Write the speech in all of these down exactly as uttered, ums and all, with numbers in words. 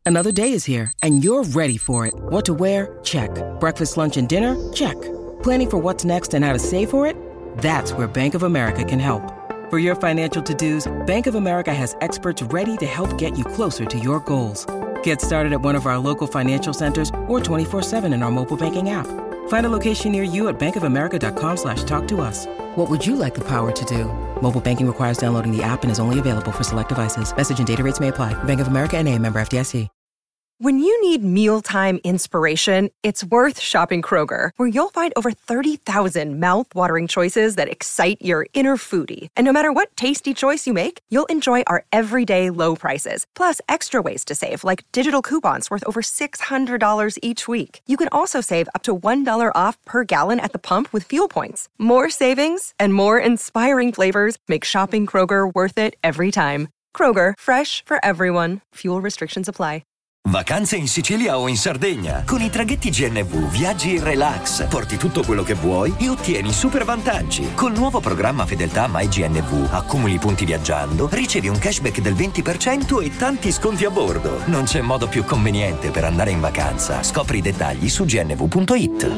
Another day is here, and you're ready for it. What to wear? Check. Breakfast, lunch, and dinner? Check. Planning for what's next and how to save for it? That's where Bank of America can help. For your financial to-dos, Bank of America has experts ready to help get you closer to your goals. Get started at one of our local financial centers or twenty-four seven in our mobile banking app. Find a location near you at bankofamerica.com slash talk to us. What would you like the power to do? Mobile banking requires downloading the app and is only available for select devices. Message and data rates may apply. Bank of America N A, member F D I C. When you need mealtime inspiration, it's worth shopping Kroger, where you'll find over thirty thousand mouth-watering choices that excite your inner foodie. And no matter what tasty choice you make, you'll enjoy our everyday low prices, plus extra ways to save, like digital coupons worth over six hundred dollars each week. You can also save up to one dollar off per gallon at the pump with fuel points. More savings and more inspiring flavors make shopping Kroger worth it every time. Kroger, fresh for everyone. Fuel restrictions apply. Vacanze in Sicilia o in Sardegna. Con i traghetti G N V viaggi in relax, porti tutto quello che vuoi e ottieni super vantaggi. Col nuovo programma Fedeltà MyGNV accumuli punti viaggiando, ricevi un cashback del venti per cento e tanti sconti a bordo. Non c'è modo più conveniente per andare in vacanza. Scopri i dettagli su g n v punto i t.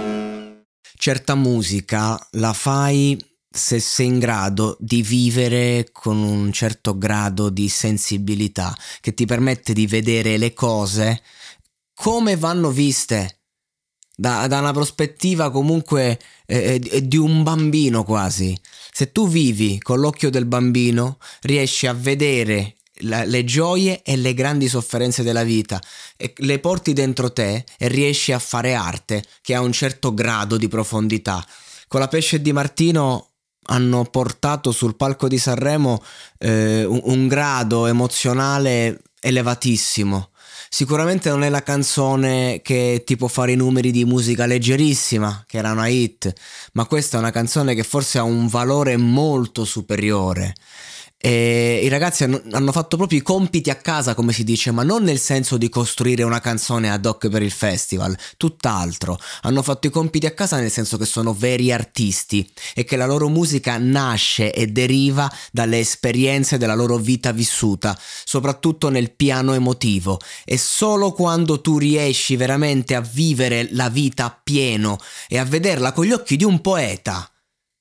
Certa musica la fai se sei in grado di vivere con un certo grado di sensibilità che ti permette di vedere le cose come vanno viste da, da una prospettiva comunque eh, di un bambino quasi. Se tu vivi con l'occhio del bambino riesci a vedere la, le gioie e le grandi sofferenze della vita e le porti dentro te e riesci a fare arte che ha un certo grado di profondità. Con la Pesce Di Martino hanno portato sul palco di Sanremo eh, un, un grado emozionale elevatissimo. Sicuramente non è la canzone che ti può fare i numeri di musica leggerissima, che era una hit, ma questa è una canzone che forse ha un valore molto superiore. E i ragazzi hanno, hanno fatto proprio i compiti a casa, come si dice, ma non nel senso di costruire una canzone ad hoc per il festival, tutt'altro. Hanno fatto i compiti a casa nel senso che sono veri artisti e che la loro musica nasce e deriva dalle esperienze della loro vita vissuta, soprattutto nel piano emotivo. E solo quando tu riesci veramente a vivere la vita appieno e a vederla con gli occhi di un poeta,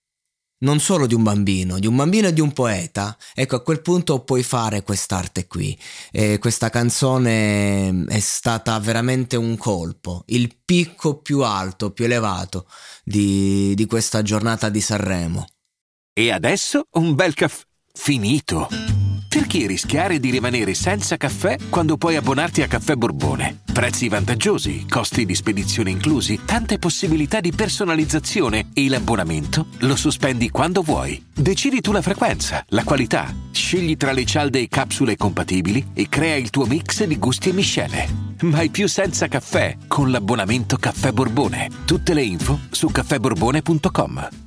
non solo di un bambino, di un bambino e di un poeta, ecco, a quel punto puoi fare quest'arte qui. E questa canzone è stata veramente un colpo, il picco più alto, più elevato di, di questa giornata di Sanremo. E adesso un bel caffè finito. Perché rischiare di rimanere senza caffè quando puoi abbonarti a Caffè Borbone? Prezzi vantaggiosi, costi di spedizione inclusi, tante possibilità di personalizzazione e l'abbonamento lo sospendi quando vuoi. Decidi tu la frequenza, la qualità, scegli tra le cialde e capsule compatibili e crea il tuo mix di gusti e miscele. Mai più senza caffè con l'abbonamento Caffè Borbone. Tutte le info su caffè borbone punto com.